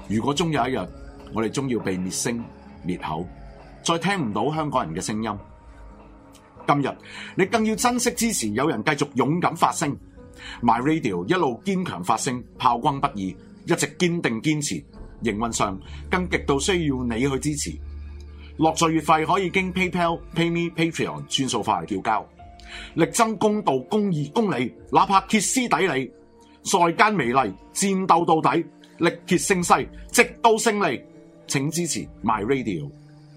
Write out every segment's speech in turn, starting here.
如果終有一日，我哋終要被滅聲滅口，再聽唔到香港人嘅聲音，今日你更要珍惜支持有人繼續勇敢發聲。My Radio 一路堅強發聲，炮轟不已，一直堅定堅持。營運上更極度需要你去支持。落座月費可以經 PayPal、PayMe、Patreon 轉數化嚟繳交。力爭公道、公義、公理，哪怕歇斯底里，在間美麗，戰鬥到底，力竭勝勢，直到勝利。請支持 My Radio。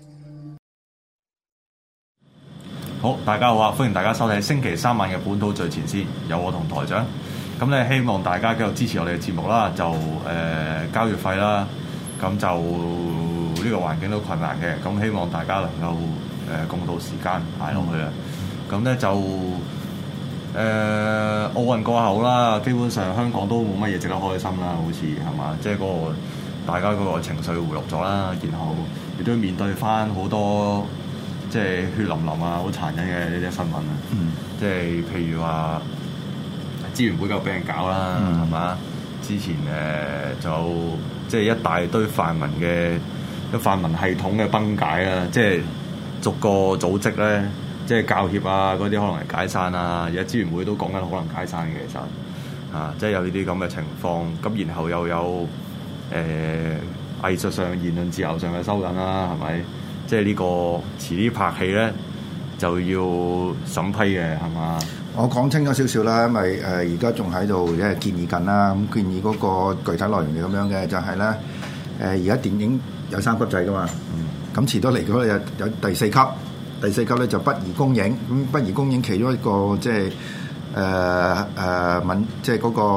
好，大家好啊！歡迎大家收睇星期三晚嘅本土最前線，有我同台長。咁咧，希望大家繼續支持我哋嘅節目啦，就交月費啦。咁就呢個環境都困難嘅，咁希望大家能夠共度時間捱落去啊！咁咧就奧運過後啦，基本上香港都冇乜嘢值得開心啦，好似係嘛？即係嗰個大家嗰個情緒回落咗啦，然後亦都面對翻好多即係血淋淋啊、好殘忍嘅呢啲新聞啊！即係譬如話支聯會夠俾人搞啦，係嘛？之前就即係一大堆泛民系統嘅崩解啊！即係逐個組織咧，即係教協啊嗰啲可能係解散啊，而家支聯會都講緊可能解散嘅，其實啊，即係有呢啲咁嘅情況。咁然後又有藝術上言論自由上嘅收緊啦，係咪？即係呢個遲啲拍戲咧就要審批嘅，係嘛？ 我講清咗少少啦，因為而家仲喺度建議緊啦。咁建議嗰個具體內容係咁樣嘅，就係咧而家電影有3級制噶嘛。咁遲多嚟嗰有第4級，第4級咧就不宜公映。咁不宜公映其中一個即係即係嗰個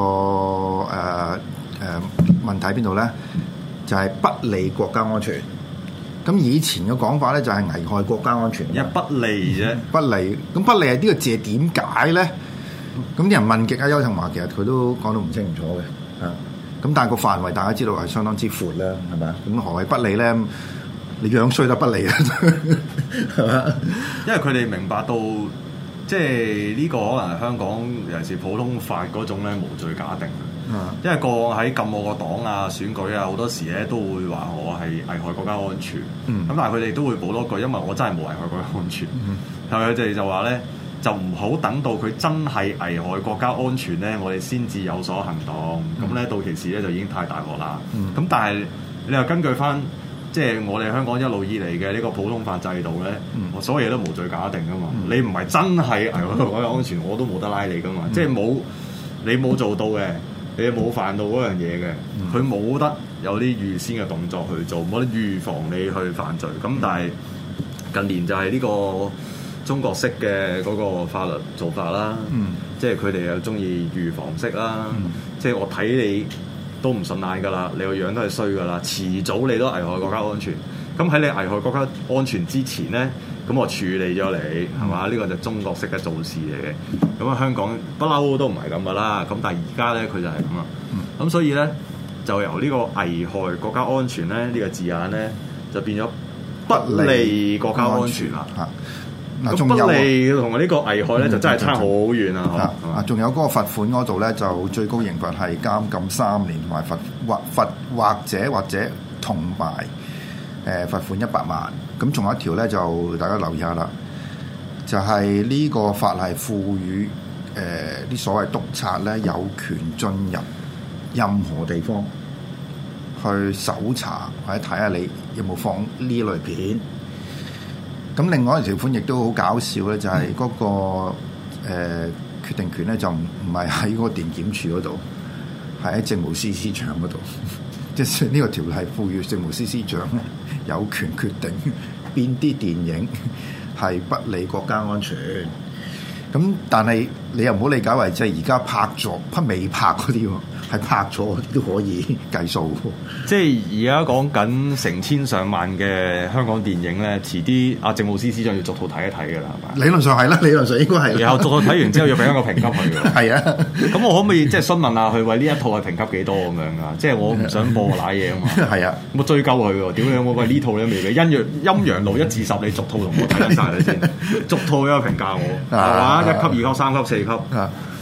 問題喺邊度咧？就係不利國家安全。咁以前嘅講法咧就係危害國家安全， 一不利啫， 不利。咁不利係呢個字點解咧？咁啲人問極啊，邱騰華其實佢都講得唔清唔楚嘅，咁但係個範圍大家知道係相當之闊啦，係咪啊？咁何謂不利咧？你樣衰得不利啊，係嘛？ 因為佢哋明白到，即係呢個可能係香港尤其是普通法嗰種咧無罪假定。因為過往喺禁我個黨啊、選舉啊，好多時咧都會話我係危害國家安全。咁但係佢哋都會補多句，因為我真係冇危害國家安全。係咪？佢哋就話咧，就唔好等到佢真係危害國家安全咧，我哋先至有所行動。咁咧到其時咧就已經太大鑊啦。咁但係你又根據翻，即係我哋香港一路以嚟嘅呢個普通法制度咧，所有嘢都無罪假定噶嘛。你唔係真係危害國家安全，我都冇得拉你噶嘛。即係你冇做到嘅。你冇犯到嗰樣嘢嘅，佢冇得有啲預先嘅動作去做，冇得預防你去犯罪。咁但係近年就係呢個中國式嘅嗰個法律做法啦，即係佢哋又中意預防式啦，即係我睇你都唔順眼㗎啦，你個樣都係衰㗎啦，遲早你都危害國家安全。咁喺你危害國家安全之前咧，咁我處理咗你係嘛？呢個就中國式嘅做事嚟嘅。咁啊，香港不嬲都唔係咁噶啦。咁但係而家咧，佢就係咁啦。咁所以咧，就由呢個危害國家安全咧呢個字眼咧，就變咗不利國家安全啦。咁不利同呢個危害咧，就真係差好遠啊！ 仲有嗰個罰款嗰度咧，就最高刑罰係監禁3年，同埋或者同埋罰款100萬。咁仲有一條咧，就大家留意下啦，就係呢個法例賦予啲所謂督察咧有權進入任何地方去搜查或者睇下你有冇放呢類片。咁另外一條款亦都好搞笑咧，就係嗰個決定權咧就唔係喺嗰個電檢處嗰度，係喺政務司司長嗰度。即係呢個條例賦予政務司司長有權決定邊啲電影係不利國家安全。咁但係你又唔好理解為即係而家拍咗未拍嗰啲喎，係拍咗都可以計數。 即係而家講緊成千上萬嘅香港電影咧，遲啲阿政務司司長要逐套睇一睇㗎啦，係嘛？ 理論上係啦，理論上應該係。 然後逐套睇完之後要俾一個評級佢㗎。 係啊，咁我可唔可以即係詢問下佢為呢一套係評級幾多咁樣㗎？即係我唔想播瀨嘢啊嘛。係啊，我追究佢喎，屌你有冇喂呢套你都未俾？陰陽路1至10，你逐套同我睇得晒你先，逐套一個評價我係嘛？1級、2級、3級、4級。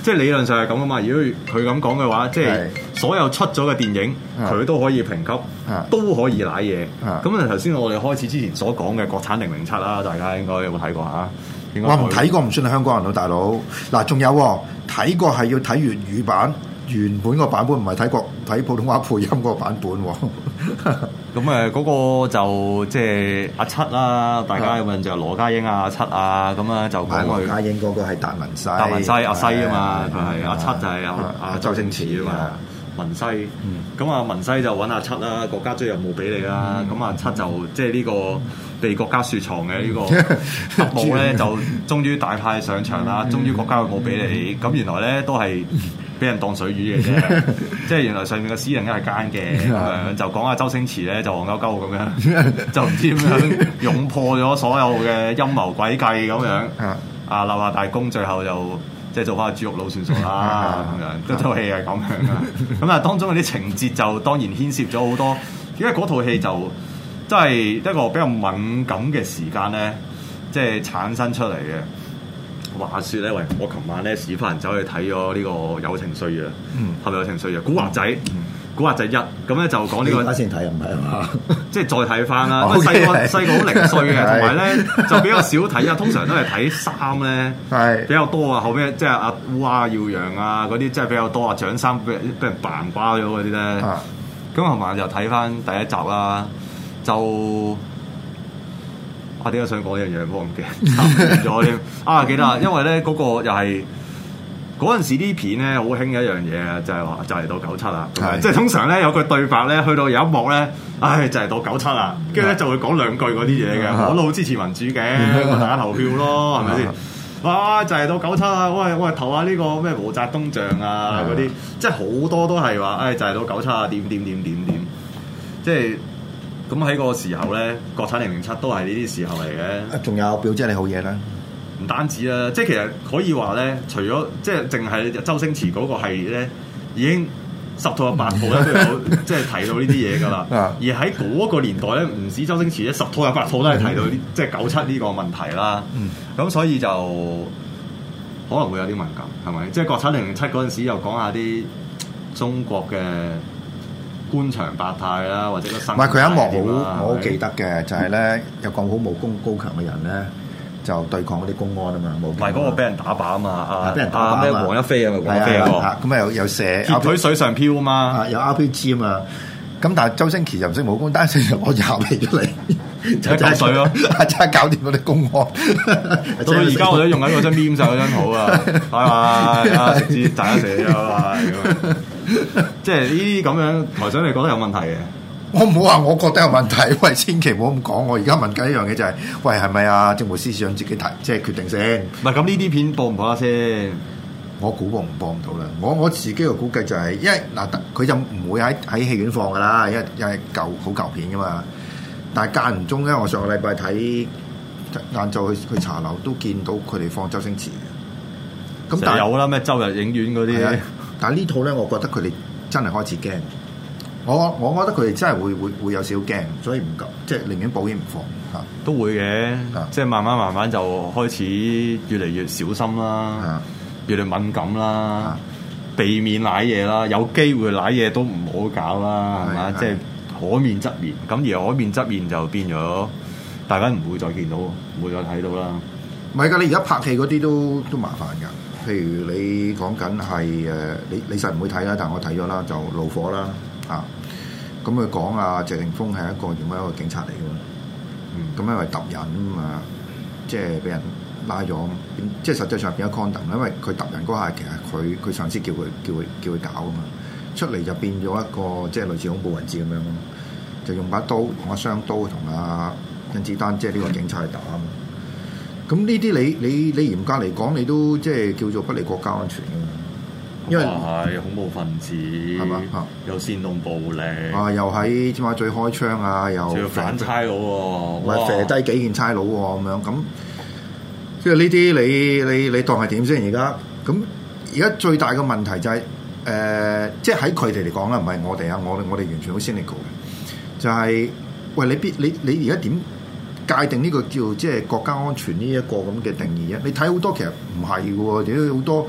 即係理論上係咁啊嘛。如果佢咁講嘅話，即係所有出咗嘅電影，佢都可以評級，都可以瀨嘢。咁啊頭先我哋開始之前所講嘅國產007啦，大家應該有冇睇過嚇？ 我唔睇過唔算係香港人咯，大佬。嗱，仲有睇過係要睇粵語版。原本個版本唔係睇普通話配音個版本喎。 咁嗰個就即係阿七啦，大家有冇印象？羅家英阿七啊，咁啊就講佢。 羅家英嗰個係達文西。 達文西阿西啊嘛，佢係阿七就係阿周星馳啊嘛。文西，咁啊文西就揾阿七啦，國家追任務俾你啦。咁阿七就即係呢個被國家雪藏嘅呢個特務咧，就終於大派上場啦，終於國家有冇俾你。咁原來咧都係俾人當水魚嘅啫，即係原來上面嘅司令係奸嘅咁樣，就講阿周星馳咧就戇鳩鳩咁樣，就唔知點樣擁破咗所有嘅陰謀詭計咁樣。啊，立下大功，最後就即係做翻個豬肉佬算數啦咁樣。嗰套戲係咁樣啊。咁啊，當中嗰啲情節就當然牽涉咗好多，因為嗰套戲就真係一個比較敏感嘅時間咧，即係產生出嚟嘅。話説咧，喂，我琴晚咧屎忽人走去睇咗呢個《友情歲月》，係咪《友情歲月》？古惑仔，古惑仔1，咁咧就講呢個。而家先睇唔係啊嘛？即係再睇翻啦。細個好零碎嘅，同埋咧就比較少睇啊。通常都係睇衫咧，比較多啊。後尾即係阿烏鴉耀陽啊嗰啲，即係比較多啊。獎衫俾人扮瓜咗嗰啲咧。咁琴晚就睇翻第一集啦，就。我點解想講呢樣嘢？我唔記得咗添。記得啊，因為咧嗰個又係嗰陣時啲片咧好興嘅一樣嘢，就係話就嚟到97啦。即係通常咧有句對白咧，去到有一幕咧，就嚟到97啦，跟住咧就會講兩句嗰啲嘢嘅。我都好支持民主嘅，大家投票咯，係咪先？哇！就嚟到97啦，喂，投下呢個咩毛澤東像啊嗰啲，即係好多都係話，就嚟到97啊，點，即係。咁喺個時候咧，國產007都係呢啲時候嚟嘅。 仲有表姐你好嘢啦， 唔單止啦，即係其實可以話咧，除咗即係淨係周星馳嗰個系列咧，已經10套有8套咧都有即係提到呢啲嘢㗎啦。而喺嗰個年代咧，唔止周星馳咧，10套有8套都係提到即係97呢個問題啦。咁所以就可能會有啲敏感，係咪？即係國產007嗰陣時又講下啲中國嘅。官場百態啦，或者個生唔係佢一幕好，我好記得嘅就係咧有個好武功高強嘅人咧，就對抗嗰啲公安啊嘛，唔係嗰個俾人打靶啊嘛，俾人打靶咩黃一飛啊嘛，黃一飛咁啊有射鐵腿水上漂啊嘛，有 RPG 啊嘛，咁但係周星馳又唔識武功，單係攞廿皮出嚟，就係水咯，真係搞掂嗰啲公安。到而家我都用緊嗰張黏晒嗰張圖啊，拜拜，直接大家寫咗啊。即係呢啲咁樣，台長你覺得有問題嘅？我唔好話，我覺得有問題。喂，千祈唔好咁講。我而家問緊一樣嘢就係，喂，係咪啊？政務司司長自己提，即係決定先。唔係咁呢啲片播唔播得先？我估播唔到啦。我自己嘅估計就係，因為嗱，佢就唔會喺戲院放噶啦，因為好舊片噶嘛。但係間唔中咧，我上個禮拜睇晏晝去茶樓都見到佢哋放周星馳嘅。咁但係有啦，咩周日影院嗰啲。但係呢套咧，我覺得佢哋真係開始驚。我覺得佢哋真係會有少驚，所以唔夠，即係寧願保險唔放嚇。都會嘅，即係慢慢就開始越嚟越小心啦，越嚟敏感啦，避免舐嘢啦。有機會舐嘢都唔好搞啦，係嘛？即係可免則免。咁而可免則免就變咗，大家唔會再見到，唔會再睇到啦。唔係㗎，你而家拍戲嗰啲都麻煩㗎。譬如你講緊係你實唔會睇啦，但係我睇咗啦，就怒火啦嚇。咁佢講啊，謝霆鋒係一個原本一個警察嚟嘅嘛。咁因為揼人啊，即係俾人拉咗，即係實際上變咗 condom，因為佢揼人嗰下其實佢上司叫佢搞啊嘛，出嚟就變咗一個即係類似恐怖分子咁樣咯，就用把刀用把雙刀同阿甄子丹即係呢個警察去打啊嘛。咁呢啲你嚴格嚟講，你都即係叫做不利國家安全㗎嘛？因為係恐怖分子係嘛，又煽動暴力又喺尖沙咀開槍啊，又反差佬喎，唔係射低幾件差佬喎咁樣咁，即係呢啲你當係點先？而家咁而家最大嘅問題就係即係喺佢哋嚟講啦，唔係我哋啊，我哋完全好 cynical 嘅，就係喂你而家點界定呢個叫即係國家安全呢一個咁嘅定義啊？你睇好多其實唔係嘅喎，亦都好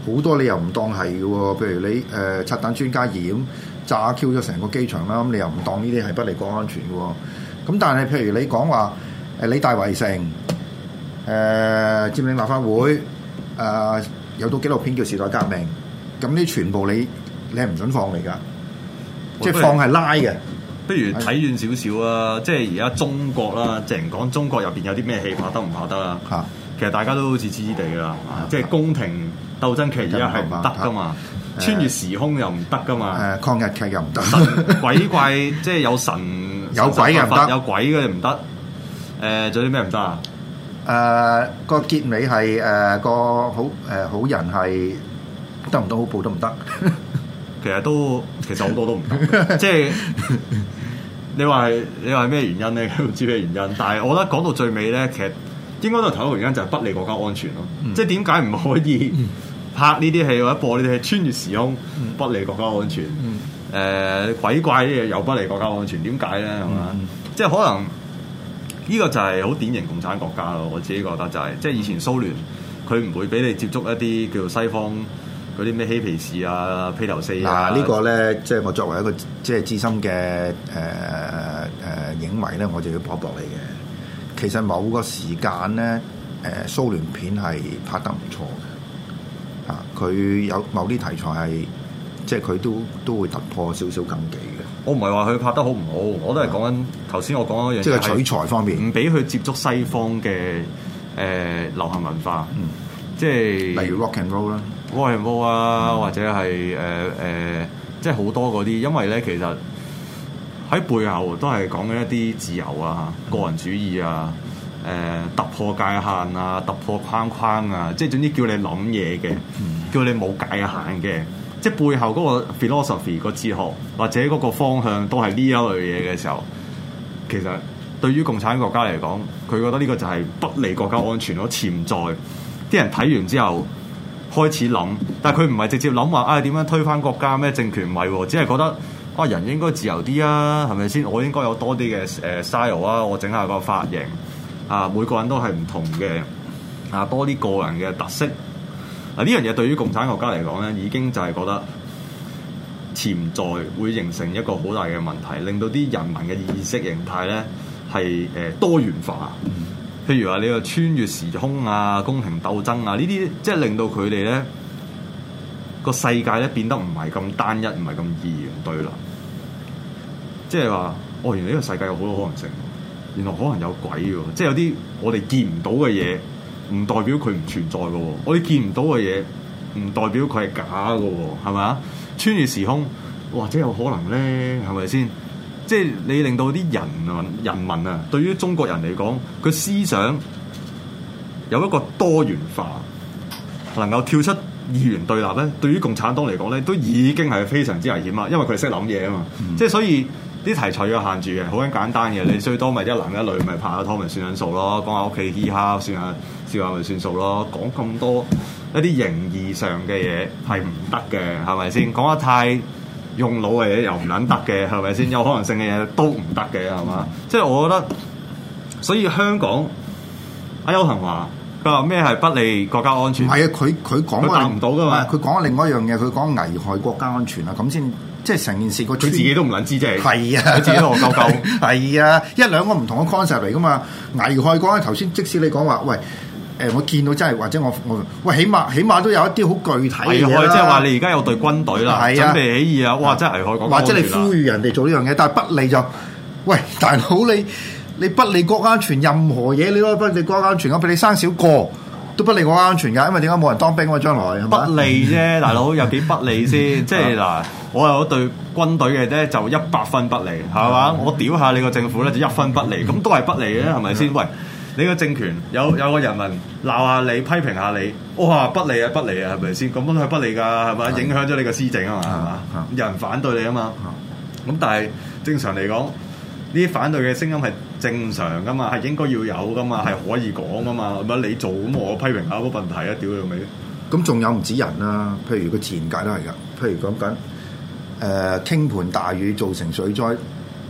好多你又唔當係嘅喎，譬如你拆彈專家驗炸 Q 咗成個機場啦，咁你又唔當呢啲係不利國安全嘅喎。咁但係譬如你講話理大圍城佔領立法會有套紀錄片叫《時代革命》，咁呢全部你係唔準放嚟㗎，即係放係拉嘅。 不如睇遠少少啊！即係而家中國啦，淨係講中國入邊有啲咩戲拍得唔拍得啦？ 嚇， 其實大家都好似知知地㗎啦，即係宮廷鬥爭劇而家係唔得㗎嘛，穿越時空又唔得㗎嘛， 抗日劇又唔得， 鬼怪即係有神有鬼嘅唔得， 有鬼嘅唔得。仲有啲咩唔得啊？ 個結尾係個好人係得唔得好報都唔得。 其實好多都唔得，即係你話咩原因咧？唔知咩原因，但係我覺得講到最尾咧，其實應該都係頭一個原因就係不利國家安全咯。即係點解唔可以拍呢啲戲或者播呢啲戲穿越時空不利國家安全？鬼怪啲嘢又不利國家安全，點解咧？係嘛？即係可能呢個就係好典型共產國家咯。我自己覺得就係即係以前蘇聯佢唔會俾你接觸一啲叫做西方。嗰啲咩嬉皮士啊、披頭四啊， 呢個咧，即係我作為一個即係資深嘅影迷咧，我就要駁你嘅。其實某個時間咧，蘇聯片係拍得唔錯嘅，佢有某啲題材係即係佢都會突破少少禁忌嘅。 我唔係話佢拍得好唔好，我都係講緊頭先我講嗰樣嘢， 即係取材方面，唔俾佢接觸西方嘅流行文化，即係例如 rock and roll 啦。 rock and roll 啊，或者係即係好多嗰啲，因為咧其實喺背後都係講緊一啲自由啊、個人主義啊、突破界限啊、突破框框啊，即係總之叫你諗嘢嘅，叫你冇界限嘅，即係背後嗰個 philosophy 個哲學或者嗰個方向都係呢一類嘢嘅時候，其實對於共產國家嚟講，佢覺得呢個就係不利國家安全咯，潛在啲人睇完之後。開始諗，但係佢唔係直接諗話點樣推翻國家咩政權，唔係喎，只係覺得人應該自由啲啊，係咪先？我應該有多啲嘅style啊，我整下個髮型每個人都係唔同嘅多啲個人嘅特色呢樣嘢對於共產國家嚟講咧，已經就係覺得潛在會形成一個好大嘅問題，令到啲人民嘅意識形態咧係多元化。譬如話你個穿越時空啊、宮廷鬥爭啊呢啲，即係令到佢哋咧個世界咧變得唔係咁單一，唔係咁二元對立。即係話，原來呢個世界有好多可能性，原來可能有鬼喎。即係有啲我哋見唔到嘅嘢，唔代表佢唔存在嘅喎。我哋見唔到嘅嘢，唔代表佢係假嘅喎，係咪啊？穿越時空，或者有可能咧，係咪先？即係你令到啲人民啊，對於中國人嚟講，佢思想有一個多元化，能夠跳出二元對立咧，對於共產黨嚟講咧，都已經係非常之危險啦。因為佢識諗嘢啊嘛，即係所以啲題材要限住嘅，好簡單嘅。你最多咪一男一女咪拍下拖咪算緊數咯，講下屋企嘻哈算下笑下咪算數咯。講咁多一啲形義上嘅嘢係唔得嘅，係咪先？講得太用腦嘅嘢又唔撚得嘅，係咪先？有可能性嘅嘢都唔得嘅，係嘛？即係我覺得，所以香港阿邱騰華佢話咩係不利國家安全？ 係啊，佢講答唔到噶嘛？ 佢講另外一樣嘢，佢講危害國家安全啊，咁先即係成件事佢自己都唔撚知，即係係啊， 佢自己都戇鳩鳩。 係啊，一兩個唔同嘅 concept 嚟噶嘛。危害國家頭先，即使你講話喂。我見到真係或者我喂，起碼都有一啲好具體嘅嘢啦。 即係話你而家有隊軍隊啦，準備起義啊！哇，真係危害國家安全啦。或者你呼籲人哋做呢樣嘢，但係不利就喂大佬你不利國家安全，任何嘢你都不利國家安全。我俾你生少個都不利國家安全㗎，因為點解冇人當兵啊？將來係咪不利啫，大佬有幾不利先？即係嗱，我有一隊軍隊嘅啫，就100分不利，係嘛？我屌下你個政府咧，就1分不利，咁都係不利嘅，係咪先？喂！你個政權有個人民鬧下你，批評下你，哇不利啊，係咪先？咁樣係不利㗎，係咪？影響咗你個施政啊嘛，係嘛？有人反對你啊嘛，咁但係正常嚟講，呢啲反對嘅聲音係正常㗎嘛，係應該要有㗎嘛，係可以講㗎嘛，係咪？你做咁我批評下冇問題啊，屌你老味！ 咁仲有唔止人啦，譬如個自然界都係㗎，譬如講緊傾盆大雨造成水災。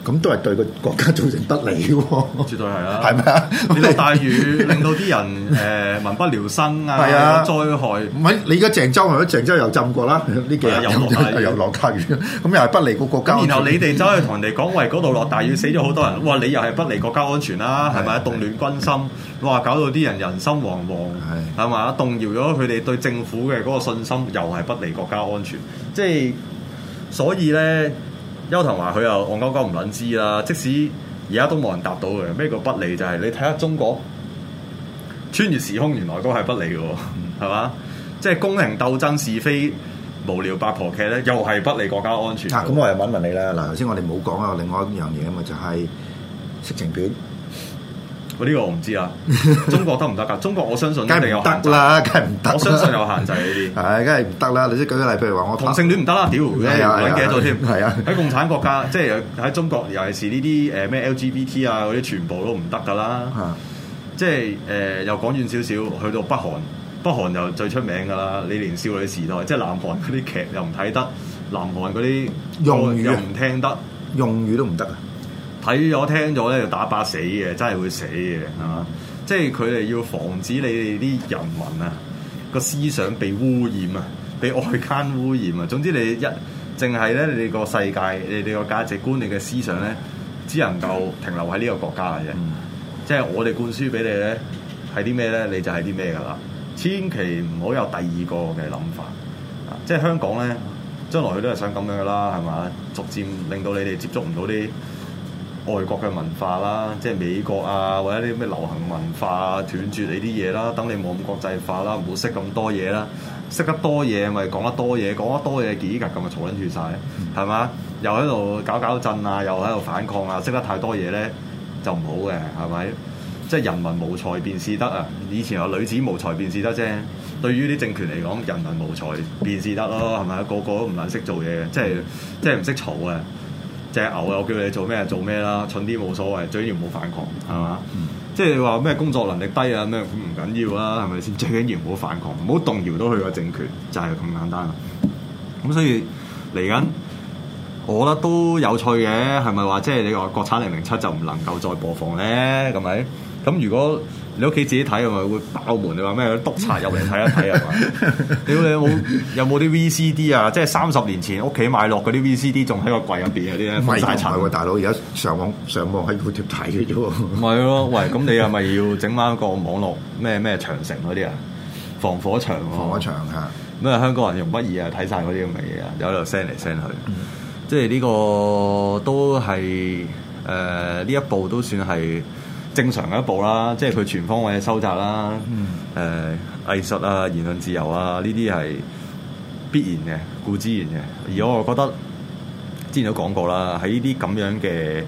咁都係對個國家造成不利嘅喎。 絕對係啦， 係咪啊？ 你落大雨令到啲人民不聊生啊，有災害。 唔係你而家鄭州係咪？鄭州又浸過啦，呢幾日又落大雨，咁又係不利個國家。 然後你哋走去同人哋講，喂，嗰度落大雨死咗好多人，哇！你又係不利國家安全啦，係咪？動亂軍心，哇！搞到啲人人心惶惶，係嘛？動搖咗佢哋對政府嘅嗰個信心，又係不利國家安全。即係所以咧，邱騰華佢又戇鳩鳩唔撚知啦。即使而家都冇人答到嘅，咩叫不利？就係你睇下中國穿越時空，原來都係不利嘅，係嘛？即係宮廷鬥爭是非無聊八婆劇咧，又係不利國家安全。 咁我又問你啦。嗱，頭先我哋冇講啊，另外一樣嘢啊嘛，就係色情片。 呢個我唔知啊，中國得唔得㗎？中國我相信梗係唔得啦，梗係唔得。 我相信有限制呢啲。 係，梗係唔得啦。你即係舉個例，譬如話我同性戀唔得啦，屌，揾幾多添？ 係啊， 喺共產國家，即係喺中國，尤其是呢啲咩 LGBT 啊嗰啲，全部都唔得㗎啦。即係又講遠少少，去到北韓，北韓又最出名㗎啦。你連少女時代，即係南韓嗰啲劇又唔睇得，南韓嗰啲用語又唔聽得， 用語都唔得啊！ 睇咗聽咗咧就打靶死嘅，真係會死嘅，係嘛？即係佢哋要防止你哋啲人民啊個思想被污染啊，被外間污染啊。總之你淨係咧，你哋個世界、你哋個價值觀、你嘅思想咧，只能夠停留喺呢個國家嘅啫。即係我哋灌輸俾你咧係啲咩咧，你就係啲咩㗎啦。千祈唔好有第二個嘅諗法。即係香港咧，將來佢都係想咁樣㗎啦，係嘛？逐漸令到你哋接觸唔到啲外國嘅文化啦，即係美國啊，或者啲咩流行文化斷絕你啲嘢啦，等你冇咁國際化啦，唔好識咁多嘢啦，識得多嘢咪講得多嘢，講得多嘢幾格咁咪嘈撚住晒，係嘛？又喺度搞震啊，又喺度反抗啊，識得太多嘢咧就唔好嘅，係咪？即係人民無才便是德啊！以前有女子無才便是德啫，對於啲政權嚟講，人民無才便是德咯，係咪？個個都唔撚識做嘢嘅，即係唔識嘈嘅。隻牛又叫你做咩做咩啦，蠢啲冇所謂，最緊要唔好反抗，係嘛？即係你話咩工作能力低啊咩唔緊要啦，係咪先？最緊要唔好反抗，唔好動搖到佢個政權，就係咁簡單啦。咁所以嚟緊，我覺得都有趣嘅，係咪話即係你話國產007就唔能夠再播放咧？係咪？咁如果你屋企自己睇，係咪會爆門？你話咩？督察入嚟睇一睇係嘛？屌你有冇啲 VCD 啊？即係30年前屋企買落嗰啲 VCD，仲喺個櫃入邊嗰啲咧，唔係喎，大佬而家上網喺 YouTube 睇嘅啫喎。唔係咯，喂，咁你係咪要整翻個網絡咩長城嗰啲啊？防火牆嚇。咁啊，香港人用乜嘢啊？睇晒嗰啲咁嘅嘢啊，有度 send 嚟 send 去。即係呢個都係呢一步都算係正常嘅一步啦，即係佢全方位嘅收窄啦，藝術啊、言論自由啊，呢啲係必然嘅、固之然嘅。而我覺得之前都講過啦，喺呢啲咁樣嘅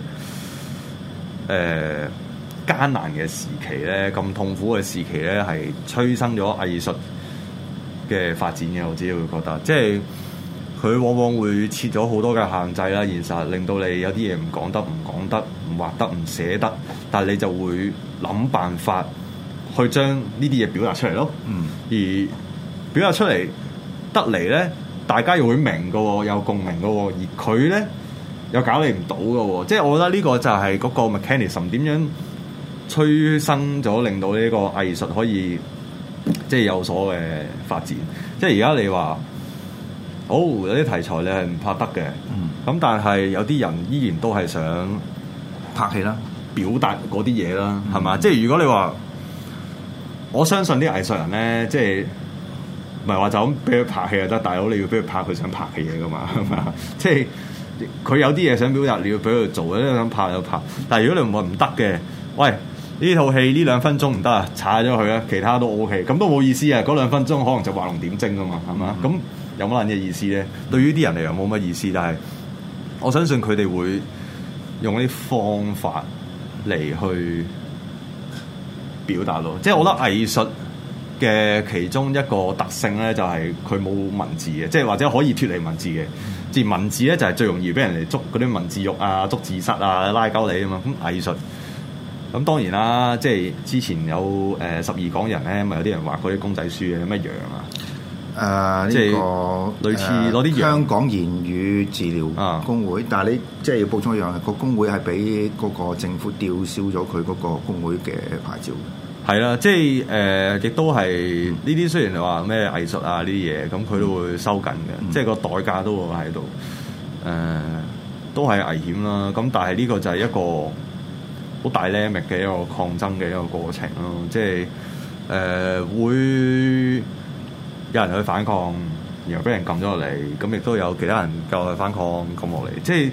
艱難嘅時期咧，咁痛苦嘅時期咧，係催生咗藝術嘅發展嘅。我自己會覺得，即係佢往往會設咗好多嘅限制啦，現實令到你有啲嘢唔講得、唔畫得、唔寫得，但係你就會諗辦法去將呢啲嘢表達出嚟咯。而表達出嚟得嚟咧，大家又會明嘅喎，有共鳴嘅喎，而佢咧又搞你唔到嘅喎。即係我覺得呢個就係嗰個 mechanism 點樣催生咗，令到呢個藝術可以即係有所嘅發展。即係而家你話，有啲題材你係唔拍得嘅，咁但係有啲人依然都係想拍戲啦， 表達嗰啲嘢啦，係嘛？即係如果你話，我相信啲藝術人咧，即係唔係話就咁俾佢拍戲就得，大佬你要俾佢拍佢想拍嘅嘢噶嘛，係嘛？即係佢有啲嘢想表達，你要俾佢做，你想拍就拍。但係如果你唔話唔得嘅，喂，呢套戲呢2分鐘唔得啊，踩咗佢啊，其他都 OK，咁都冇意思啊！嗰2分鐘可能就畫龍點睛噶嘛，係嘛？咁有乜撚嘅意思咧？對於啲人嚟講冇乜意思，但係我相信佢哋會用啲方法嚟去表達咯。即係我覺得藝術嘅其中一個特性咧，就係佢冇文字嘅，即係或者可以脫離文字嘅。而文字咧就係最容易俾人哋捉嗰啲文字獄啊、捉字蝨啊、拉鳩你啊嘛。咁藝術咁當然啦，即係之前有12港人咧，咪有啲人畫嗰啲公仔書嘅，咩羊啊？ 即係個類似攞啲香港言語治療工會，但係你即係要補充一樣，個工會係俾嗰個政府吊銷咗佢嗰個工會嘅牌照。 係啦，即係亦都係呢啲雖然你話咩藝術啊呢啲嘢，咁佢都會收緊嘅，即係個代價都會喺度，都係危險啦。咁但係呢個就係一個好dynamic嘅一個抗爭嘅一個過程咯，即係會有人去反抗，然後俾人撳咗落嚟，咁亦都有其他人繼續去反抗撳落嚟，即係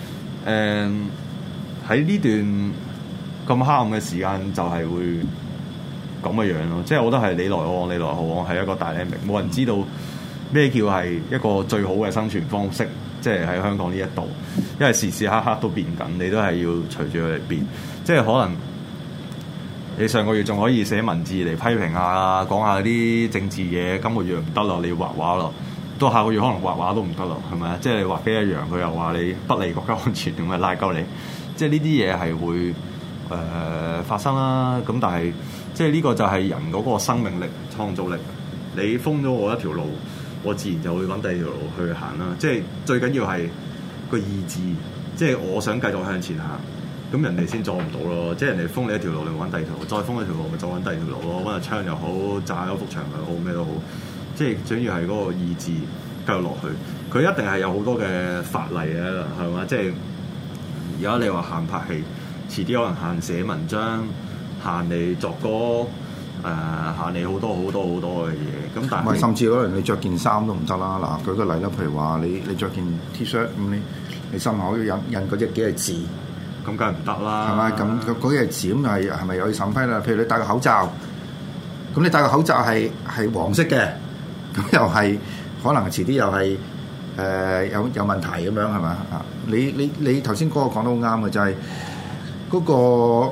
喺呢段咁黑暗嘅時間就係會咁嘅樣咯，即係我覺得係你來我往，你來我往係一個dynamic，冇人知道咩叫係一個最好嘅生存方式，即係喺香港呢一度，因為時時刻刻都變緊，你都係要隨住佢嚟變，即係可能你上個月仲可以寫文字嚟批評下，講下啲政治嘢，今個月唔得咯，你要畫畫咯，到下個月可能畫畫都唔得咯，係咪啊？即係你畫機一樣，佢又話你不利國家安全，咁咪拉鳩你，即係呢啲嘢係會發生啦。咁但係即係呢個就係人嗰個生命力、創造力。你封咗我一條路，我自然就會揾第二條路去行啦。即係最緊要係個意志，即係我想繼續向前行，咁人哋先阻唔到咯。即係人哋封你一條路，你揾第二條路；再封一條路，咪再揾第二條路咯。揾下槍又好，炸咗幅牆又好，咩都好。即係最緊要係嗰個意志繼續落去。佢一定係有好多嘅法例嘅，係嘛？即係而家你話限拍戲，遲啲可能限寫文章。限你作歌，限你好多嘅嘢。咁但係甚至可能你着件衫都唔得啦。嗱，舉個例啦，譬如話你着件 T-shirt 咁，你心口要印嗰隻幾隻字， 咁梗係唔得啦。 係咪？咁嗰幾隻字咁係咪有審批啦？譬如你戴個口罩，咁你戴個口罩係黃色嘅，咁又係可能遲啲又係有問題咁樣係咪啊？你頭先嗰個講得好啱嘅，就係嗰個。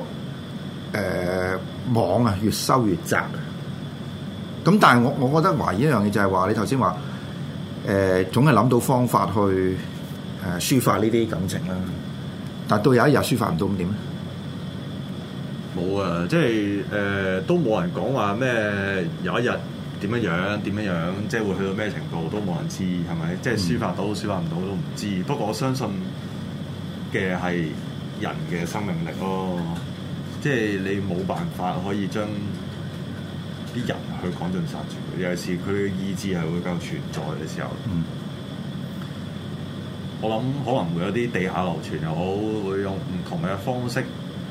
網啊越收越窄，咁但係我覺得懷疑一樣嘢就係話你頭先話總係諗到方法去抒發呢啲感情啦，但係到有一日抒發唔到咁點咧？ 冇啊，即係都冇人講話咩有一日點樣，即係會去到咩程度都冇人知係咪？即係抒發到抒發唔到都唔知。不過我相信嘅係人嘅生命力咯。即係你冇辦法可以將啲人去趕盡殺絕，尤其是佢嘅意志係會繼續存在嘅時候。我諗可能會有啲地下流傳又好，會用唔同嘅方式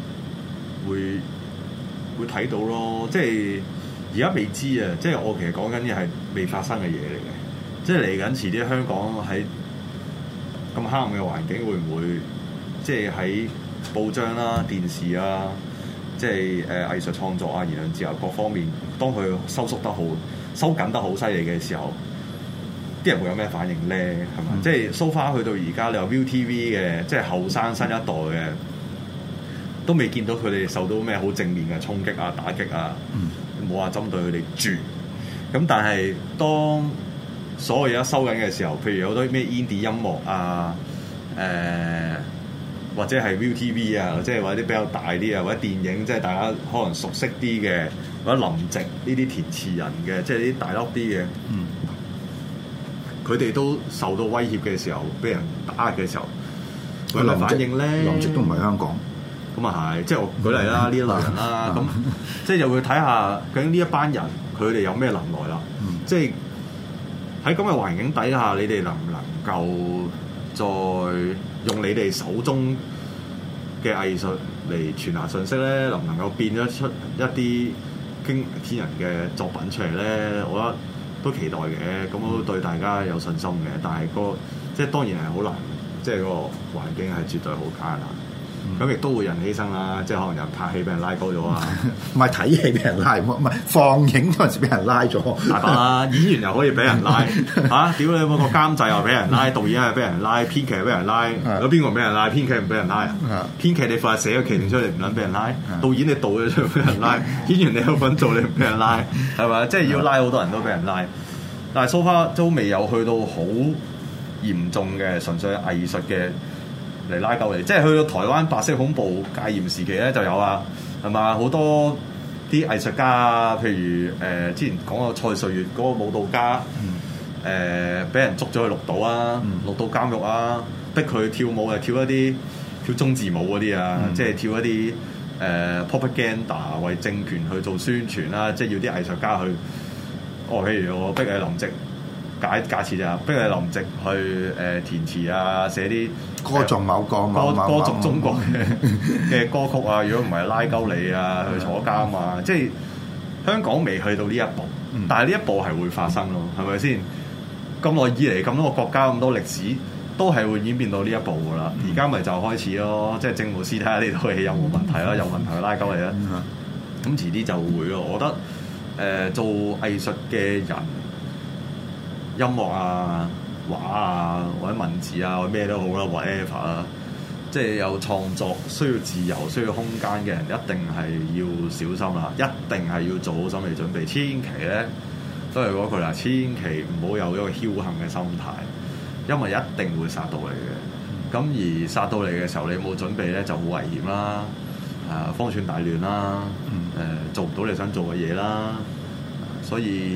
會睇到咯。即係而家未知啊！即係我其實講緊嘅係未發生嘅嘢嚟嘅。即係嚟緊遲啲香港喺咁黑暗嘅環境，會唔會即係喺報章啦、電視啊？即係藝術創作啊、言論自由各方面，當佢收緊得好犀利嘅時候，啲人會有咩反應咧？係嘛？即係 so far 去到而家，你話 ViuTV 嘅，即係後生新一代嘅，都未見到佢哋受到咩好正面嘅衝擊啊、打擊啊，冇話針對佢哋住。咁但係當所有嘢一收緊嘅時候，譬如有好多咩 indie 音樂啊，或者係 ViuTV 啊，即係或者啲比較大啲啊，或者電影，即係大家可能熟悉啲嘅，或者林夕呢啲填詞人嘅，即係啲大粒啲嘅，佢哋都受到威脅嘅時候，俾人打壓嘅時候，佢有咩反應咧？ 林夕都唔係香港， 咁啊係，即係我舉例啦，呢一類人啦，咁即係就會睇下究竟呢一班人佢哋有咩能耐啦，即係喺咁嘅環境底下，你哋能唔能夠再用你哋手中嘅藝術嚟傳達信息咧，能唔能夠變咗出一啲驚天人嘅作品出嚟咧？我覺得都期待嘅，咁我都對大家有信心嘅。但係即係當然係好難，即係個環境係絕對好艱難。咁亦都會人犧牲啦，即係可能人拍戲俾人拉高咗啊！ 唔係睇戲俾人拉，唔係放映嗰陣時俾人拉咗。 大把啦，演員又可以俾人拉嚇，屌你冇個監製又俾人拉，導演又俾人拉，編劇又俾人拉，有邊個唔俾人拉？編劇唔俾人拉啊！編劇你快寫個劇情出嚟唔撚俾人拉，導演你導咗出嚟俾人拉，演員你有份做你唔俾人拉，係咪？即係要拉好多人都俾人拉，但係 so far 都未有去到好嚴重嘅純粹藝術嘅。嚟拉鳩你，即係去到台灣白色恐怖戒嚴時期咧就有啊，係嘛？好多啲藝術家，譬如之前講過蔡瑞月嗰個舞蹈家，俾人捉咗去綠島啊，綠島監獄啊，逼佢跳舞係跳一啲跳中字舞嗰啲啊，即係跳一啲propaganda 為政權去做宣傳啦，即係要啲藝術家去，譬如我逼你林夕。假設就逼你林夕去填詞啊，寫啲歌頌某個歌頌中國嘅歌曲啊，如果唔係拉鳩你啊，去坐監啊，即係香港未去到呢一步，但係呢一步係會發生咯，係咪先？咁耐以嚟咁多個國家咁多歷史，都係會演變到呢一步噶啦。而家咪就開始咯，即係政務司睇下呢套戲有冇問題啦，有問題拉鳩你啦。咁遲啲就會咯。我覺得做藝術嘅人。音樂啊、畫啊，或者文字啊，或者咩都好啦 ，whatever 啊，即係有創作需要自由、需要空間嘅人，一定係要小心啦，一定係要做好心理準備。千祈咧都係嗰句啦，千祈唔好有一個僥倖嘅心態，因為一定會殺到你嘅。咁而殺到你嘅時候，你冇準備咧，就好危險啦，方寸大亂啦，做唔到你想做嘅嘢啦，所以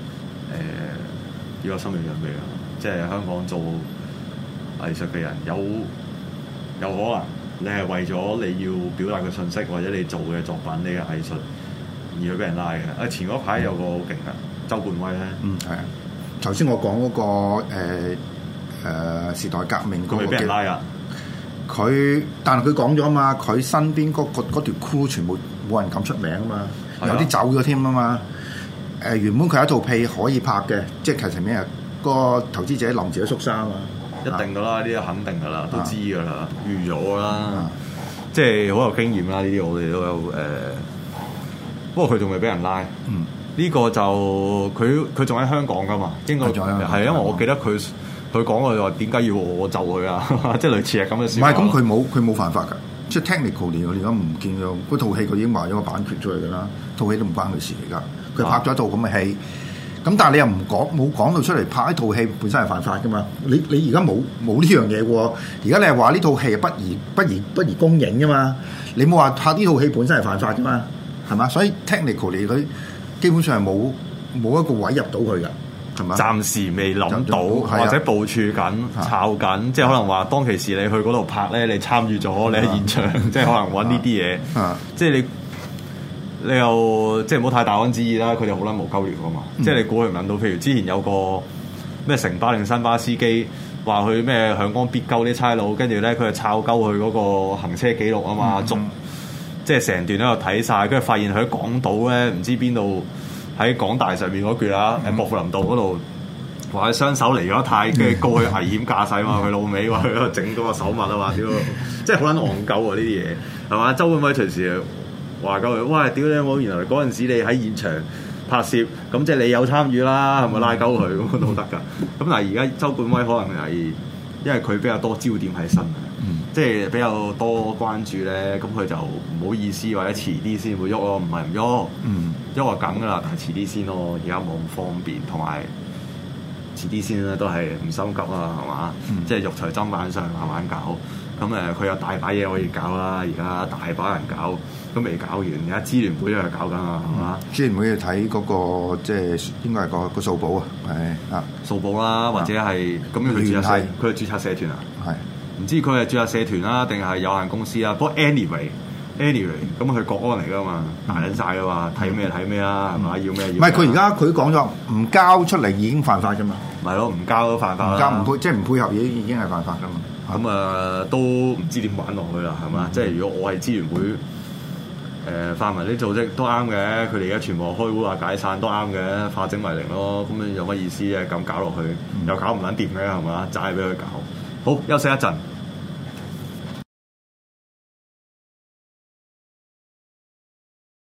要有心理準備啊！即係香港做藝術嘅人，有可能你係為咗你要表達嘅信息，或者你做嘅作品、你嘅藝術而去俾人拉嘅。前嗰排有個好勁啊，周冠威咧， 係啊。頭先我講嗰個時代革命嗰個， 佢俾人拉啊！ 但係佢講咗啊嘛，佢身邊嗰條 crew 全部冇人敢出名啊嘛，有啲走咗添啊嘛。原本佢有一套戲可以拍嘅，即係其實咩啊？個投資者臨時都縮沙啊嘛， 一定噶啦，呢啲肯定噶啦，都知噶啦，預咗噶啦，即係好有經驗啦。呢啲我哋都有不過佢仲未俾人拉。呢個就佢仲喺香港噶嘛？應該係因為我記得佢講過話點解要我就佢啊？即係類似係咁嘅事。 唔係咁，佢冇犯法㗎。即係 technically 我而家唔見咗嗰套戲，佢已經賣咗個版權出嚟㗎啦。套戲都唔關佢事嚟㗎。佢拍咗一套咁嘅戲，咁但係你又冇講到出嚟拍一套戲本身係犯法㗎嘛？你而家冇呢樣嘢喎。而家你係話呢套戲係不宜公映㗎嘛？你冇話拍呢套戲本身係犯法㗎嘛？係嘛？所以 technically 佢基本上係冇一個位入到去㗎，係嘛？ 暫時未諗到，或者部署緊、抄緊，即係可能話當其時你去嗰度拍咧，你參與咗，你喺現場，即係可能揾呢啲嘢，即係你又即係唔好太大安旨意啦，佢哋好撚無鳩聊噶嘛，即係你估佢唔諗到，譬如之前有個咩城巴定新巴司機話佢咩響光必鳩啲差佬，跟住咧佢係抄鳩佢嗰個行車記錄啊嘛，即係成段喺度睇晒，跟住發現佢喺港島咧唔知邊度喺港大上面嗰橛啊，薄扶林道嗰度話佢雙手離咗太，跟住告佢危險駕駛嘛，佢老尾話佢喺度整嗰個手襪啊嘛，屌，即係好撚戇鳩啊呢啲嘢係嘛？周冠威隨時話鳩佢，喂，屌你冇！原來嗰陣時你喺現場拍攝，咁即係你有參與啦，係咪拉鳩佢咁都得㗎？咁但係而家周冠威可能係因為佢比較多焦點喺身，即係比較多關注咧，咁佢就唔好意思或者遲啲先會喐咯，唔係唔喐，喐就梗㗎啦，但係遲啲先咯，而家冇咁方便，同埋遲啲先咧都係唔心急啊，係嘛？即係肉隨砧板上慢慢搞。咁佢有大把嘢可以搞啦，而家大把人搞，都未搞完。而家支聯會都係搞緊啊，係嘛？支聯會要睇嗰個即係應該係個數簿啊，係啊，數簿啦，或者係咁樣佢註冊，佢係註冊社團啊，係唔知佢係註冊社團啦，定係有限公司啊？不過 anyway，咁佢國安嚟㗎嘛，大撚晒㗎嘛，睇咩睇咩啦，係嘛？要咩要？唔係佢而家佢講咗唔交出嚟已經犯法㗎嘛？咪咯，唔交都犯法啦，唔交唔配即係唔配合已經係犯法㗎嘛？咁都唔知點玩落去啦，係嘛？即係如果我係支聯會泛民啲組織都啱嘅，佢哋而家全部開會話解散都啱嘅，化整為零咯。咁樣有乜意思啊？咁搞落去又搞唔撚掂嘅係嘛？齋俾佢搞。好，休息一陣。